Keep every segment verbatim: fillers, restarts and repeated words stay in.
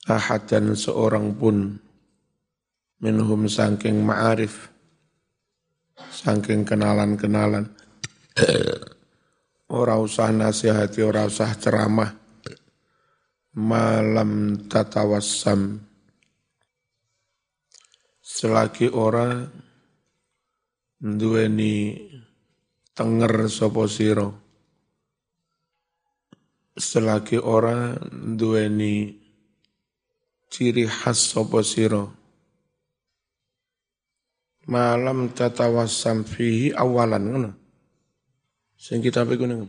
ahad dan seorang pun minhum saking ma'arif, saking kenalan-kenalan, ora usah nasihati, ora usah ceramah, malam tatawassam, selagi ora duweni tenger sapa sira, selagi ora duweni ciri khas sapa sira, malam tatawassam fihi awalan ngono. Sing kita iku nang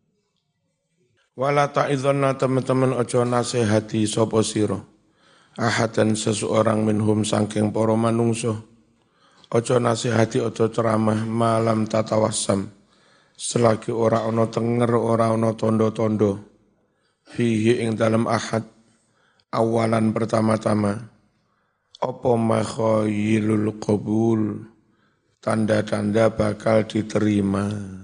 wala ta'idhanna teman-teman aja nasihati sapa sira ahadan seseorang minhum saking para manungsa, aja nasihati aja ceramah malam tatawassam selagi ora ana tenger, ora ana tondo-tondo fihi ing dalam ahad awalan pertama-tama apa makhayilul qabul, tanda-tanda bakal diterima.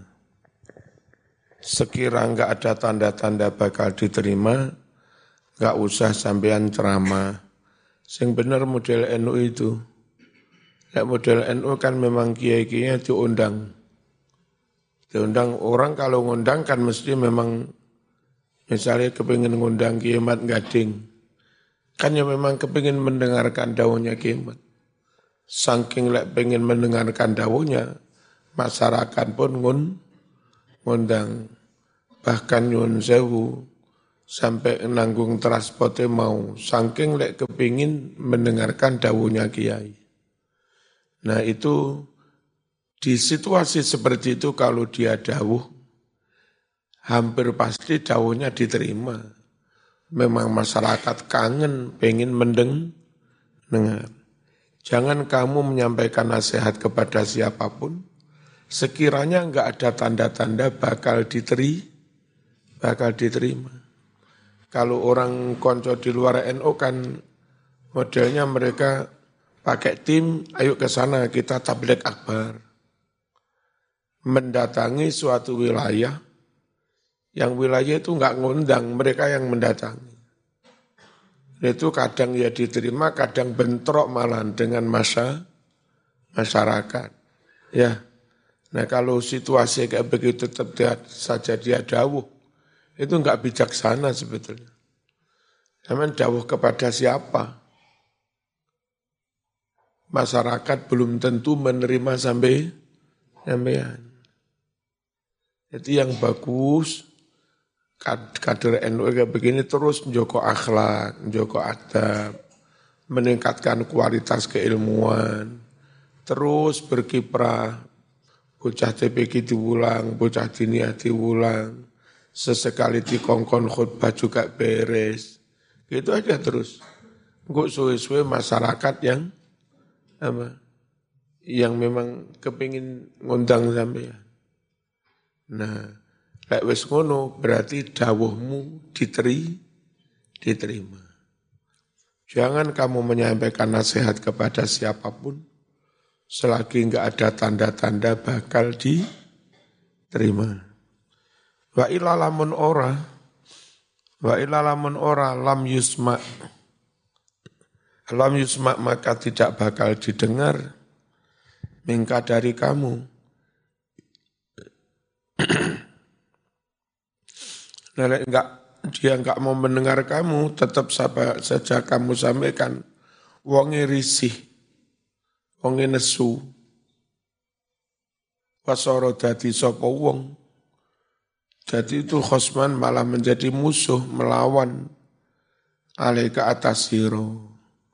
Sekira enggak ada tanda-tanda bakal diterima, enggak usah sampean ceramah. Sing bener model N U itu. Nek model N U kan memang kiai-kiainya diundang. Diundang orang kalau ngundang kan mesti memang misalnya kepingin ngundang Kiai Mat Gading. Kan ya memang kepingin mendengarkan dawuhnya Kiai Mat. Saking lek pengen mendengarkan dawuhnya, masyarakat pun ngun, ngundang. Bahkan nyun sewu sampai nanggung transportnya mau. Saking lek kepingin mendengarkan dawuhnya Kiai. Nah itu di situasi seperti itu kalau dia dawuh, hampir pasti dawuhnya diterima. Memang masyarakat kangen, pengen mendeng, dengar. Jangan kamu menyampaikan nasihat kepada siapapun, sekiranya enggak ada tanda-tanda bakal diteri, bakal diterima. Kalau orang konco di luar N U kan modelnya mereka pakai tim, ayo ke sana kita tabligh akbar. Mendatangi suatu wilayah, yang wilayah itu enggak ngundang, mereka yang mendatangi. Itu kadang ya diterima, kadang bentrok malah dengan masa masyarakat. Ya, nah kalau situasi kayak begitu tetap dia, saja dia dawuh, itu enggak bijaksana sebetulnya. Namun dawuh kepada siapa? Masyarakat belum tentu menerima sampai sampean. Itu yang bagus. Kader N U kayak begini terus menjaga akhlak, menjaga adab, meningkatkan kualitas keilmuan, terus berkiprah, bocah T P Q diulang, bocah diniyah diulang, sesekali dikongkon khutbah juga beres, gitu aja terus. Nggak suwe-suwe masyarakat yang apa, yang memang kepingin ngundang sampean. Nah, lek wis ngono berarti dawuhmu diteri, diterima. Jangan kamu menyampaikan nasihat kepada siapapun selagi enggak ada tanda-tanda bakal diterima. Wa ilalamun ora, wa ilalamun ora lam yusma, lam yusma maka tidak bakal didengar mingka dari kamu. Nah, enggak, dia enggak mau mendengar kamu, tetap saja kamu sampaikan, wonge risih, wonge nesu, wasoro dadi sopo wong, jadi itu khosman malah menjadi musuh, melawan, alaika atas siro.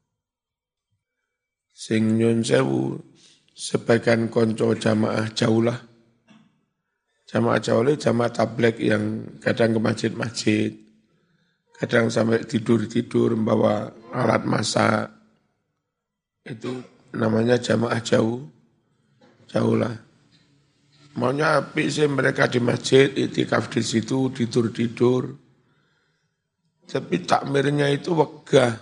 Sing nyun sewu, sebagian konco jamaah jaulah, jamaah jauh jamaah tabligh yang kadang ke masjid-masjid, kadang sampai tidur-tidur membawa alat masak, itu namanya jamaah jauh, jauh lah. Maunya api sih mereka di masjid, itikaf di situ, tidur-tidur. Tapi takmirnya itu wegah.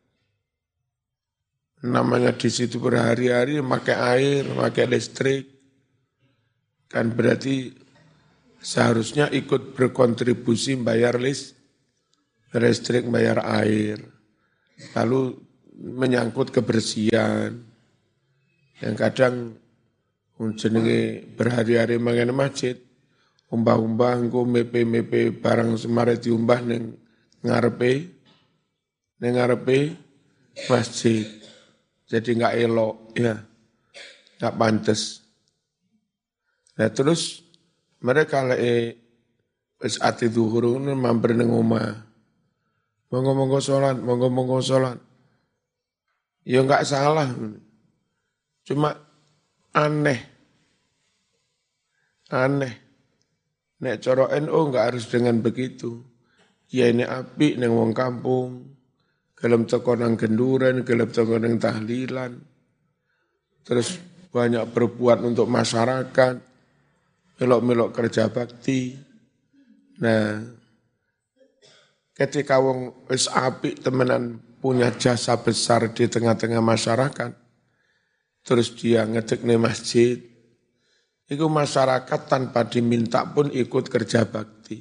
Namanya di situ berhari-hari pakai air, pakai listrik. Kan berarti seharusnya ikut berkontribusi bayar list, listrik, bayar air. Lalu menyangkut kebersihan. Yang kadang jenenge berhari-hari mangene masjid, umbah-umbah engko mepe-mepe barang semare diumbah ning ngarepe ning ngarepe masjid. Jadi enggak elok ya. Enggak pantes. Nah terus mereka lek wis ati zuhur ngono mampir ning omah. Monggo-monggo salat, monggo-monggo salat. Ya enggak salah. Cuma aneh. Aneh. Nek cara N U enggak harus dengan begitu. Ya ini apik ning wong kampung. Gelem teko nang genduren, gelem teko nang tahlilan. Terus banyak berbuat untuk masyarakat. Melok-melok kerja bakti. Nah, ketika wong wis apik temenan punya jasa besar di tengah-tengah masyarakat, terus dia ngedekne masjid, itu masyarakat tanpa diminta pun ikut kerja bakti.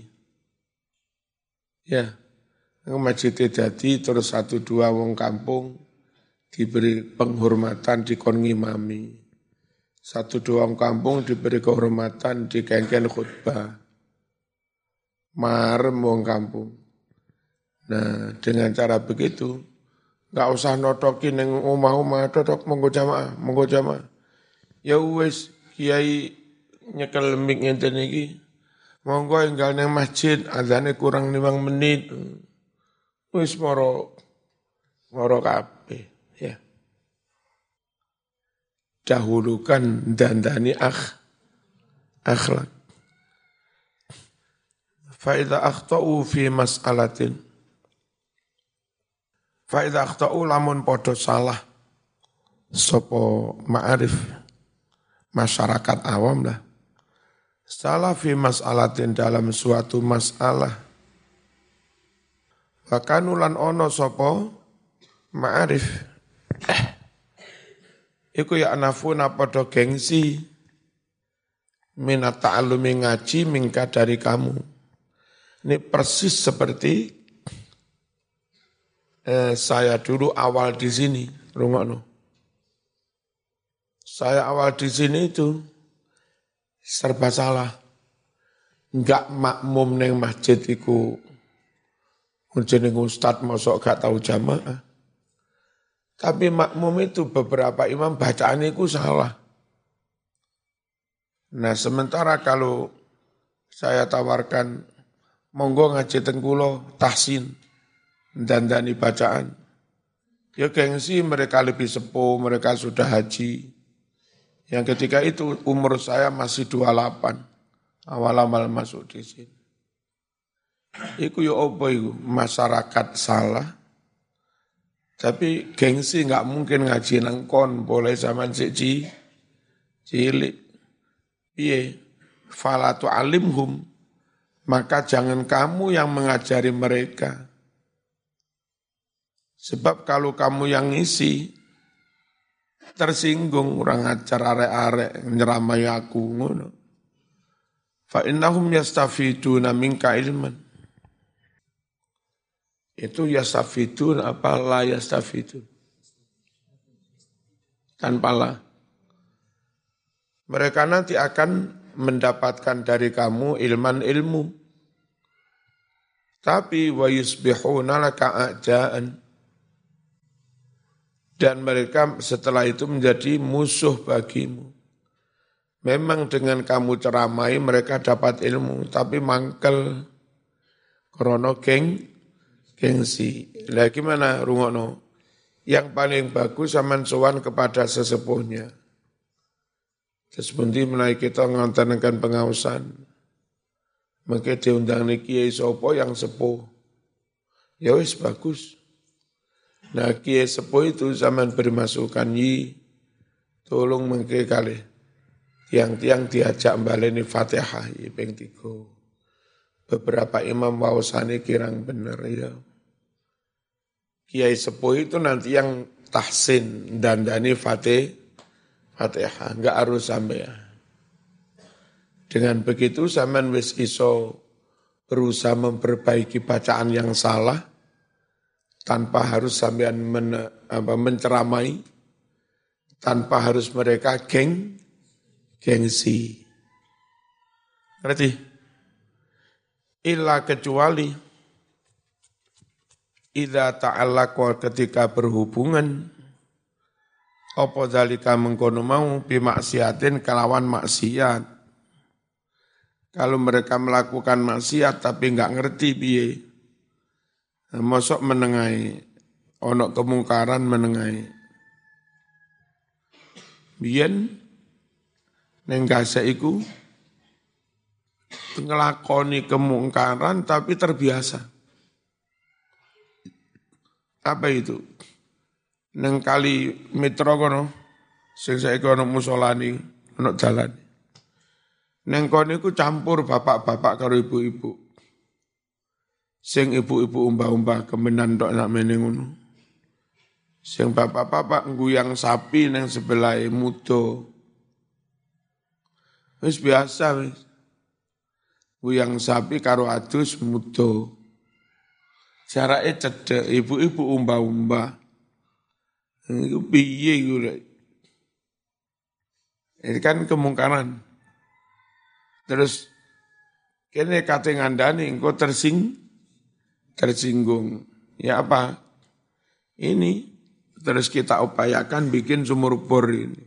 Ya, masjid jadi terus satu dua wong kampung diberi penghormatan dikon ngimami. Satu dua wong kampung diberi kehormatan dikengken khutbah. Marem wong kampung. Nah, dengan cara begitu, enggak usah notokin yang omah-omah, totok monggo jamaah, monggo jamaah. Ya wis kiai nyekel mik ngenten iki. Monggo enggal nang masjid, azane kurang limang menit. Wis moro moro kabeh, ya. Dahulukan dandani akh akhlak. Fa idza akhtau fi mas'alatin Fa'idha akhta'u lamun podo salah sopo ma'arif masyarakat awam lah. Salah fi mas'alatin dalam suatu masalah. Wakanulan ono sopo ma'arif. Eh, iku ya anafuna podo gengsi minat ta'alumi ngaji mingka dari kamu. Ini persis seperti Eh, saya dulu awal di sini, rungokno. Saya awal di sini itu serba salah. Enggak makmum neng masjid iku jeneng ustad mosok gak tahu jamaah. Tapi makmum itu beberapa imam bacaan iku salah. Nah, sementara kalau saya tawarkan monggo ngaji teng kula tahsin dandani bacaan. Ya gengsi mereka lebih sepuh, mereka sudah haji. Yang ketika itu umur saya masih dua puluh delapan. Awal-awal masuk di sini. Iku ya apa iku? Masyarakat salah. Tapi gengsi enggak mungkin ngaji nang kon, boleh zaman siji cilik. Piye? Fala tu'alimhum. Maka jangan kamu yang mengajari mereka. Sebab kalau kamu yang ngisi, tersinggung orang ajar arek-arek nyeramai aku ngono. Fa innahum yastafiduna minka ilman. Itu yastafidun apa la yastafidun? Tanpa la. Mereka nanti akan mendapatkan dari kamu ilman ilmu. Tapi wa yusbihuna laka a'ja'an. Dan mereka setelah itu menjadi musuh bagimu. Memang dengan kamu ceramai mereka dapat ilmu, tapi mangkel krono geng, gengsi. Lah gimana rungokno? Yang paling bagus sampean sowan kepada sesepuhnya. Terus pundi menawi kita ngontenkan pengawasan. Maka diundang niki kiai sapa yang sepuh. Ya wis bagus. Nah kiai sepuh itu zaman bermasukan yi, tolong mengke kali tiang-tiang diajak baleni Fatihah yi ping tiga. Beberapa imam wausane kirang bener ya. Kiai sepuh itu nanti yang tahsin dandani Fatih, Fatihah, enggak harus sampai ya. Dengan begitu zaman wis iso berusaha memperbaiki bacaan yang salah. tanpa harus sampean men, apa, menceramai, tanpa harus mereka geng, gengsi. Ngerti? Illa kecuali idza ta'allaqa ketika berhubungan apa zalika mengkono mau bimaksiatin kelawan maksiat. Kalau mereka melakukan maksiat tapi enggak ngerti piye. Mosok menengai ono kemungkaran menengai. Biyen ning gase iku ngelakoni kemungkaran tapi terbiasa. Apa itu? Neng kali Mitra kono, sing saiki ono musolani, ono dalan. Neng kono iku campur bapak-bapak karo ibu-ibu. Sing ibu-ibu umbah-umbah kemenan tok nak meneng ngono. Sing bapak-bapak ngguyang sapi neng sebelah mudo. Wis biasa wis. Nguyang sapi karo adus mudo. Jarake cedhek, ibu-ibu umbah-umbah. Iku piye iku lek. Ini kan kemungkaran. Terus kene kate ngandani engko tersing tersinggung. Ya apa? Ini terus kita upayakan bikin sumur bor ini.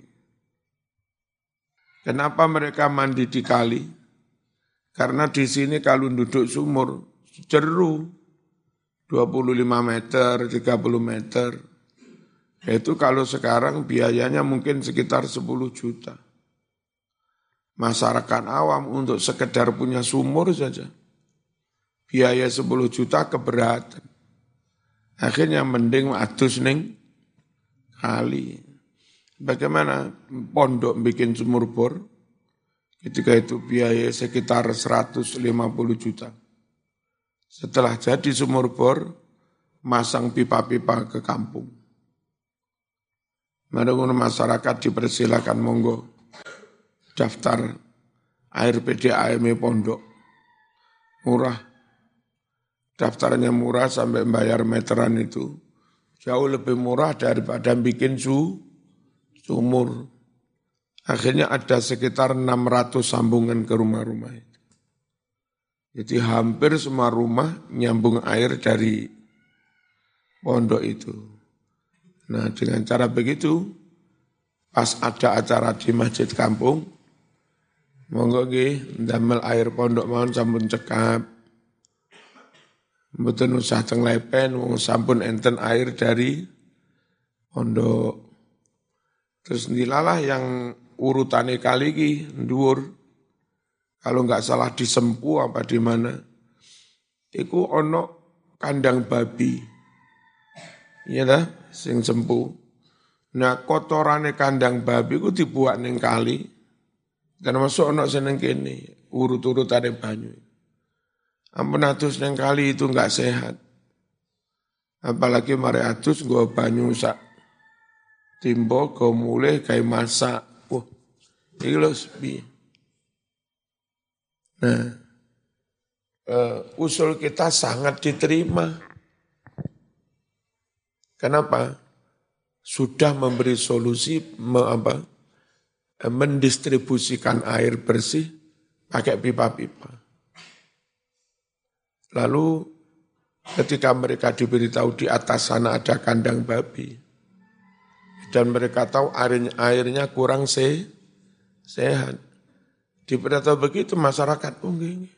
Kenapa mereka mandi di kali? Karena di sini kalau duduk sumur jeru. dua puluh lima meter, tiga puluh meter. Itu kalau sekarang biayanya mungkin sekitar sepuluh juta. Masyarakat awam untuk sekedar punya sumur saja. Biaya sepuluh juta keberatan. Akhirnya mending adus ning kali. Bagaimana pondok bikin sumur bor? Ketika itu biaya sekitar seratus lima puluh juta. Setelah jadi sumur bor, masang pipa-pipa ke kampung. Menurut masyarakat dipersilakan monggo daftar air P D A M pondok. Murah. Daftarnya murah sampai bayar meteran itu. Jauh lebih murah daripada bikin su, sumur. Akhirnya ada sekitar enam ratus sambungan ke rumah-rumah itu. Jadi hampir semua rumah nyambung air dari pondok itu. Nah dengan cara begitu, pas ada acara di masjid kampung, monggo nggih ndamel air pondok mawon sampun cekap. Mboten usah teng lepen, wong sampun enten air dari pondok. Terus ndilalah yang urutane kali iki dhuwur. Kalau enggak salah di Sempu apa di mana, iku ono kandang babi, iya dah, sing Sempu. Nah kotorane kandang babi ku dibuat ning kali, dan masuk ono seneng kene, urut-urutane banyu. Ampun atus ning kali itu enggak sehat. Apalagi mare atus nggo banyu sak timbo, go mulih gawe masak. Wah, iki lho piye? Nah, uh, usul kita sangat diterima. Kenapa? Sudah memberi solusi me, apa, mendistribusikan air bersih pakai pipa-pipa. Lalu ketika mereka diberitahu di atas sana ada kandang babi, dan mereka tahu airnya, airnya kurang se, sehat. Diberitahu begitu masyarakat, oh gini.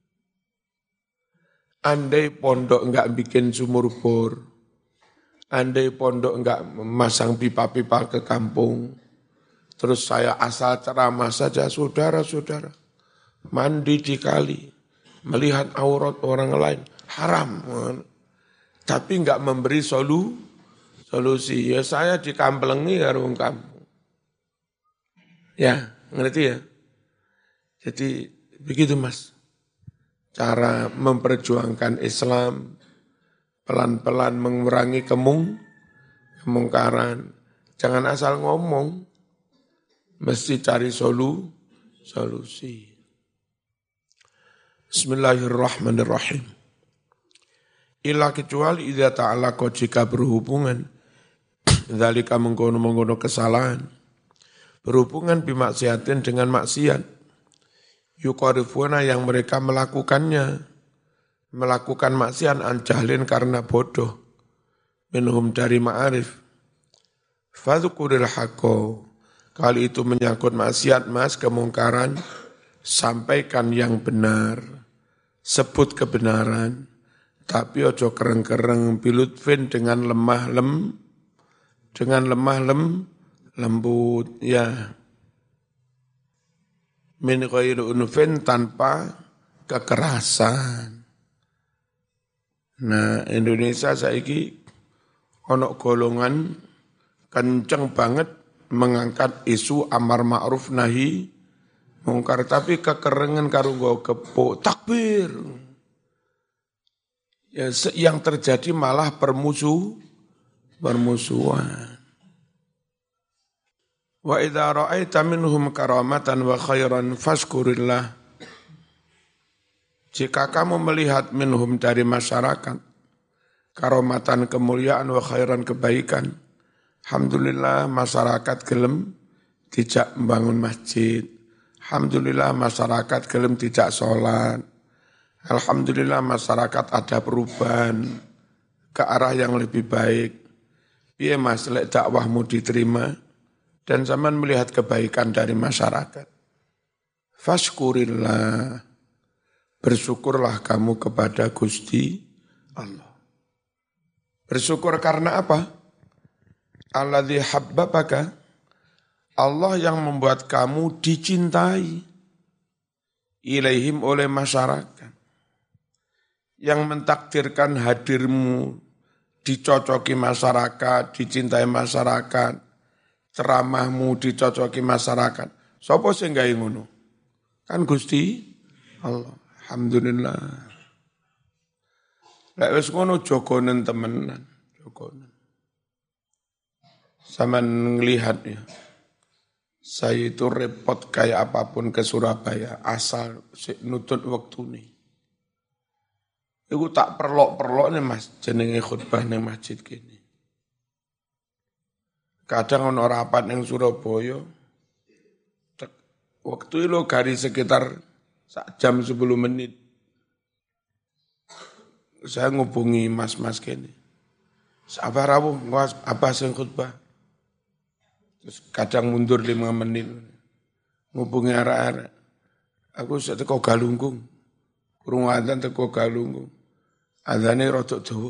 Andai pondok enggak bikin sumur bor, andai pondok enggak memasang pipa-pipa ke kampung, terus saya asal ceramah saja, saudara-saudara, mandi di kali, melihat aurat orang lain, haram. Tapi enggak memberi solu, solusi. Ya saya dikamplengi karo wong kampung. Ya, ngerti ya? Jadi begitu Mas, cara memperjuangkan Islam, pelan-pelan mengurangi kemung, kemungkaran. Jangan asal ngomong, mesti cari solu, solusi. Bismillahirrahmanirrahim. Illa kecuali idza ta'alaqa jika berhubungan dzalika mengkono-mengkono kesalahan berhubungan bimaksiatin dengan maksiat yuqarifuna yang mereka melakukannya melakukan maksiat an jahlin karena bodoh minhum dari ma'arif fadzukuril haqqo kali itu menyangkut maksiat mas kemungkaran sampaikan yang benar sebut kebenaran tapi ojo kereng-kereng bilutfin dengan lemah lem dengan lemah lem lembut ya min ghairi unfin tanpa kekerasan. Nah, Indonesia saiki ono golongan kenceng banget mengangkat isu amar ma'ruf nahi mungkar tapi kekerengan karo nggo kepuk takbir. Ya, yang terjadi malah permusuh, permusuhan. Wa idza ra'aita minhum karamatan wa khairan fashkurillah. Jika kamu melihat minhum dari masyarakat karamatan kemuliaan wa khairan kebaikan, alhamdulillah masyarakat gelem tidak membangun masjid. Alhamdulillah masyarakat gelem tidak sholat. Alhamdulillah masyarakat ada perubahan ke arah yang lebih baik. Piye Mas lek dakwahmu diterima dan zaman melihat kebaikan dari masyarakat. Fashkurillah. Bersyukurlah kamu kepada Gusti Allah. Bersyukur karena apa? Alladzi habbabaka. Allah yang membuat kamu dicintai ilaihim oleh masyarakat. Yang mentakdirkan hadirmu dicocoki masyarakat, dicintai masyarakat, ceramahmu dicocoki masyarakat. Sopo sing gawe ngono? Kan Gusti Allah. Alhamdulillah. Lek wis ngono jogonen temenan, jogonen. Sampeyan ngelihat ya. Saya itu repot kayak apapun ke Surabaya asal nutut waktu nih. Iku tak perlok-perlok nih Mas, jenenge khutbah ning masjid gini. Kadang ono rapat ning Surabaya, waktu itu garis sekitar sak jam sepuluh menit. Saya ngubungi mas-mas gini. Sabar aku, apa sing khutbah? Terus kadang mundur lima menit. Ngubungi arah-arah. Aku sudah teko Galunggung. Kurung adzan teko Galunggung. Adzane rodok dawa.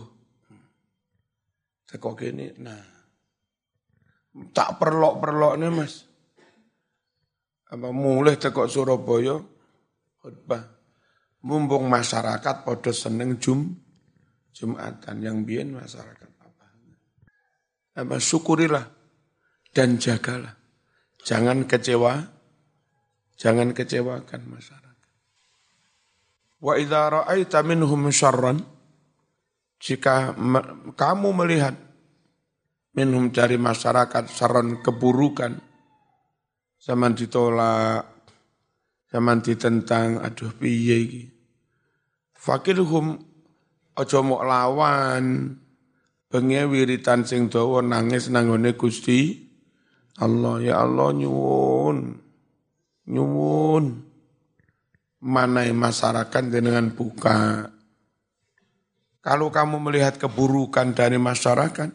Teko kene. Nah. Tak perlok-perlokne Mas. Apa mulai teko Surabaya khutbah. Mumpung masyarakat padha seneng jum Jumatan yang biyen masyarakat apa. Apa syukurilah dan jagalah. Jangan kecewa, jangan kecewakan masyarakat. Wa idza ra'aita minhum syarran, jika me, kamu melihat minhum dari masyarakat syarran keburukan, zaman ditolak, zaman ditentang, aduh piye iki. Fakirhum aja mok lawan, bengi wiritan sing dawa nangis nanggone Gusti Allah. Ya Allah nyuwun, nyuwun, manai masyarakat dengan buka. Kalau kamu melihat keburukan dari masyarakat,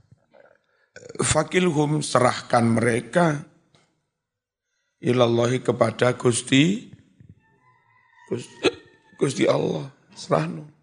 fakilhum serahkan mereka ilallahi kepada Gusti, Gusti, Gusti Allah, serahno.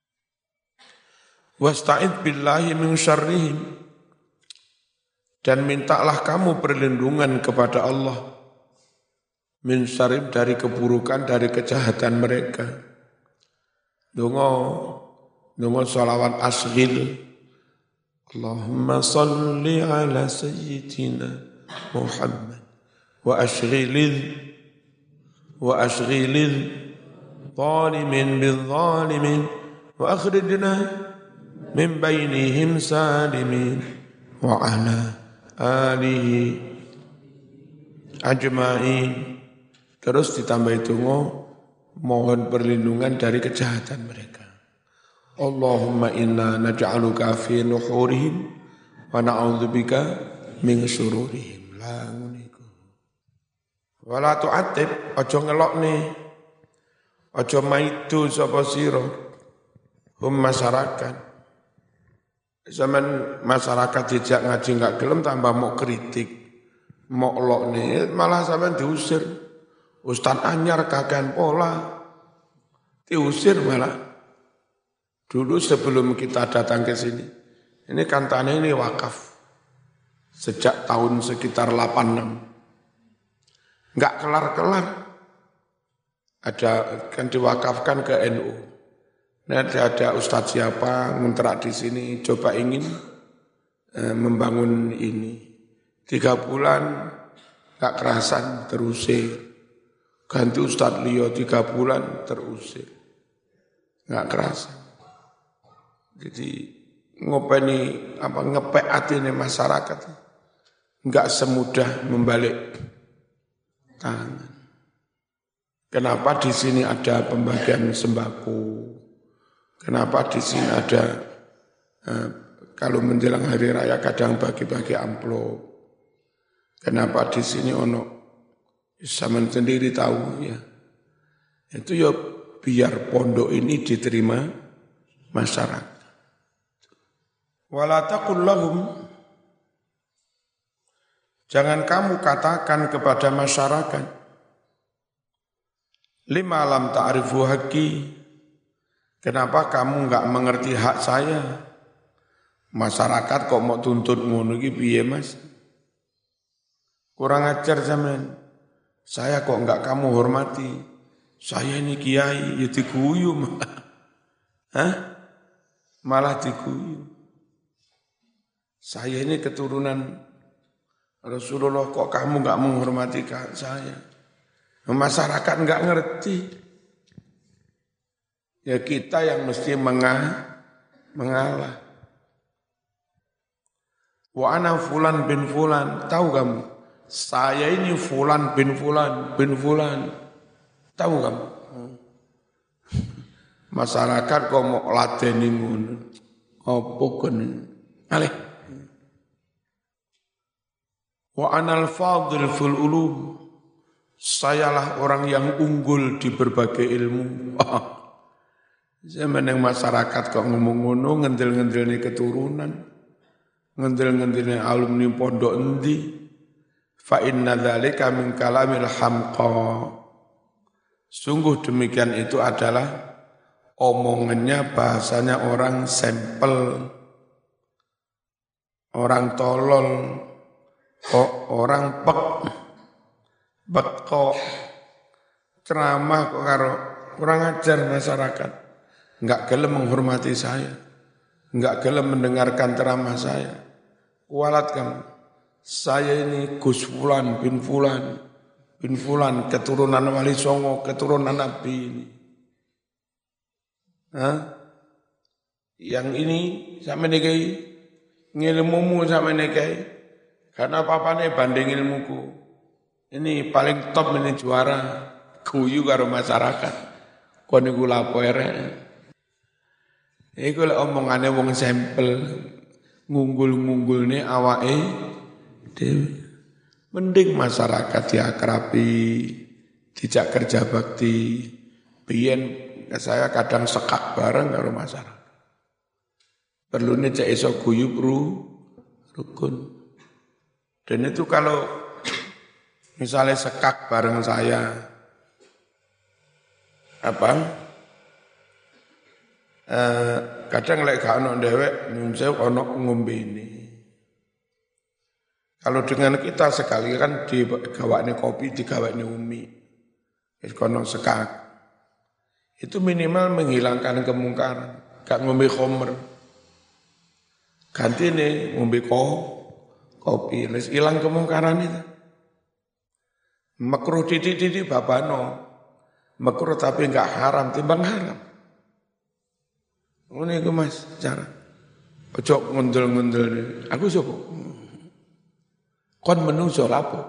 Wasta'id billahi min syarrihim. Dan mintalah kamu perlindungan kepada Allah min syarrihim dari keburukan, dari kejahatan mereka. Dongo, dongo salawat asghil. Allahumma salli ala sayyidina Muhammad wa ashghilil wa ashghilil zalimin bil zalimin wa akhrijna min bainihim salimin wa ala alihi ajma'in. Terus ditambah itu mohon perlindungan dari kejahatan mereka. Allahumma inna naj'aluka fi nuhurihim wa na'udzubika min syururihim. La nguniku. Wala tu'atib, aja ngelokne. Aja maidu sapa sira hum masyarakat. Zaman masyarakat dijak ngaji enggak gelem tambah mau kritik, mau lokne malah sampean diusir. Ustaz anyar kakean pola. Diusir malah. Dulu sebelum kita datang ke sini, ini kan tanah ini wakaf. Sejak tahun sekitar delapan puluh enam. Enggak kelar-kelar. Ada kan diwakafkan ke N U. Nah, ada, ada ustadz siapa ngontrak di sini, coba ingin eh, membangun ini. Tiga bulan enggak kerasan terusir. Ganti ustadz Leo tiga bulan terusir. Enggak kerasan. Jadi ngopeni apa ngepek atine masyarakat enggak semudah membalik tangan. Kenapa di sini ada pembagian sembako? Kenapa di sini ada eh, kalau menjelang hari raya kadang bagi-bagi amplop? Kenapa di sini ono zaman sendiri tahu ya? Itu ya biar pondok ini diterima masyarakat. Wala taqul lahum, jangan kamu katakan kepada masyarakat, lima lam ta'rifu haqqi, kenapa kamu enggak mengerti hak saya? Masyarakat kok mau tuntut ngono iki piye Mas? Kurang ajar sampean. Saya kok enggak kamu hormati? Saya ini kiai, ya diguyu malah. Hah? Malah diguyu. Saya ini keturunan Rasulullah, kok kamu enggak menghormati saya? Masyarakat enggak ngerti. Ya kita yang mesti mengalah. mengalah. Wa ana fulan bin fulan, tahu kamu? Saya ini fulan bin fulan bin fulan. Tahu kamu? Masyarakat kok mau ladeni ngono. Apa kon? Alih. Wa anal fadil fil ulum. Sayalah orang yang unggul di berbagai ilmu. Zaman yang masyarakat kok ngomong ngono, ngendel-ngendelnya keturunan, ngendel-ngendelnya alumni pondok endi. Fa inna dzalika min kalamil hamqa. Sungguh demikian itu adalah omongannya, bahasanya orang sampel, orang tolol, orang pek, beko, ceramah kok karo kurang ajar masyarakat. Enggak gelem menghormati saya, enggak gelem mendengarkan ceramah saya. Kualat kamu, saya ini Gus Fulan bin Fulan bin Fulan, keturunan Wali Songo, keturunan Nabi ini. Hah? Yang ini sama nekai ngilmumu sama nekai, karena papane banding ilmuku. Ini paling top, ini juara, guyu karo masyarakat. Kon niku lapo erek. Iku lek omongane wong sampel, ngunggul-ngunggulne awake dhewe. Mending masyarakat diakrabi, dijak kerja bakti. Biyen saya kadang sekak bareng karo masyarakat. Perlune cek iso guyub ru rukun. Dan itu kalau misalnya sekak bareng saya, apa? Eh, kadang lek gak ono dhewek nyunsew ono ngombe ini. Kalau dengan kita sekali kan digawakne kopi, digawakne umi. Wis kono sekak. Itu minimal menghilangkan kemungkaran, gak ngombe khamr. Gantine ngombe ko, kopi, wis ilang kemungkaran itu. Makruh titik-titik babano. Makruh tapi enggak haram, timbang haram. Ngene iku Mas, cara. Ojo ngundul-ngundul. Aku sapa? Kon menungso lapo.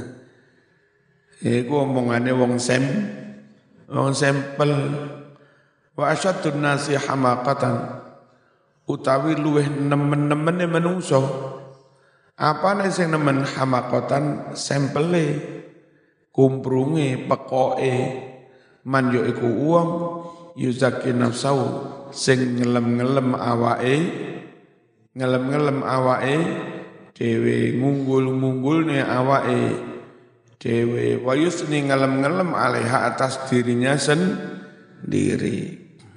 Iku omongane wong sem, wong sampel. Wa asyaddun nasi hamaqatan utawi luweh nemen-nemene menungso. Apane sing nemen hamaqatan sampele kumprunge pekoke man yo iku wong yuzaki nafsau sing ngelem-ngelem awake ngelem-ngelem awake dhewe ngunggul-ngunggulne awake dhewe wa yusni ngelem-ngelem alaiha atas dirinya sendiri.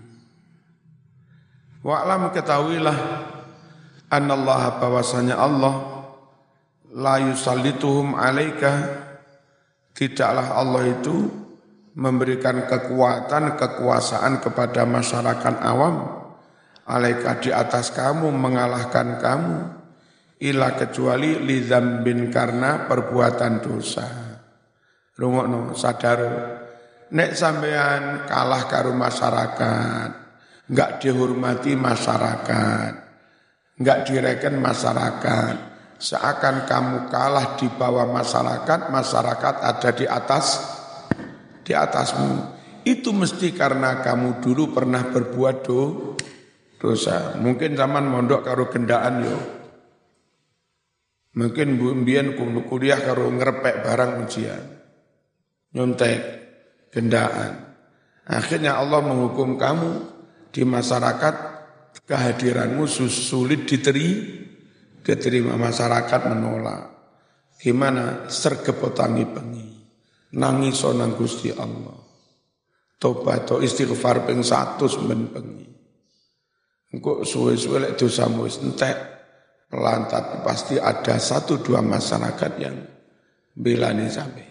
Wa'lam ketahuilah anallaha bahwasanya Allah la yusallituhum alaika, tidaklah Allah itu memberikan kekuatan, kekuasaan kepada masyarakat awam alaika di atas kamu, mengalahkan kamu ila kecuali li dzambin karena perbuatan dosa. Rungokno sadar nek sampean kalah karo masyarakat, enggak dihormati masyarakat, enggak direken masyarakat, seakan kamu kalah di bawah masyarakat, masyarakat ada di atas di atasmu. Itu mesti karena kamu dulu pernah berbuat do, dosa. Mungkin zaman mondok karo gendaan yo. Mungkin mbiyen kuliah karo ngerepek barang ujian. Nyontek, gendaan. Akhirnya Allah menghukum kamu di masyarakat, kehadiranmu sulit diteri, diterima masyarakat menolak. Gimana? Sergepotangi pengi, nangis nang Gusti Allah. Tobat atau istighfar ping satu men pengi. Engko suwe-suwe lek dosamu wis entek, pelantat pasti ada satu dua masyarakat yang belani sampai.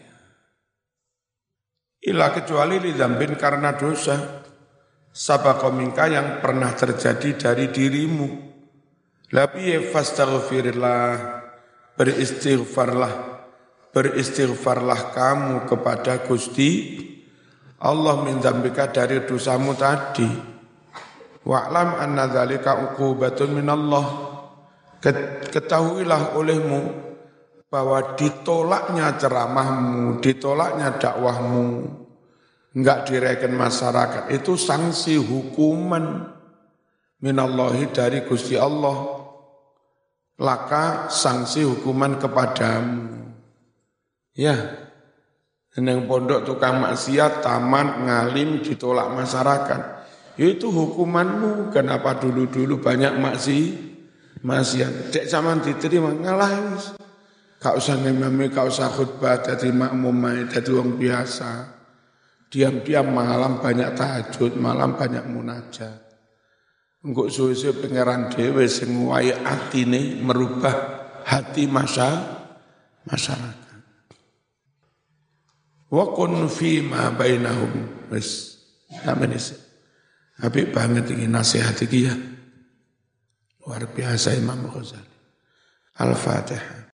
Ila kecuali li dzambin karena dosa. Sabaqa minka yang pernah terjadi dari dirimu. Labi fastaghfirillah, beristighfarlah, beristighfarlah kamu kepada Gusti Allah min dzambika dari dosamu tadi. Wa'lam anna dzalika uqubatun minallah. Ketahuilah olehmu bahwa ditolaknya ceramahmu, ditolaknya dakwahmu, enggak direken masyarakat, itu sanksi hukuman minallahi dari Gusti Allah. Laka sanksi hukuman kepadamu. Ya, neng pondok tukang maksiat, taman, ngalim, ditolak masyarakat. Itu hukumanmu. Kenapa dulu-dulu banyak maksi, maksiat. Dek zaman diterima, ngalah. Kau usah ngimami, kau usah khutbah, jadi makmum, jadi orang biasa. Diam-diam malam banyak tahajud, malam banyak munajat. Engkau suwe-suwe pengeran dewe sing wae atine merubah hati masa masyarakat. Wa kun fi ma bainahum. Wis sampeyan iki. Apik banget iki nasihat iki ya. Luar biasa Imam Ghazali. Al-Fatihah.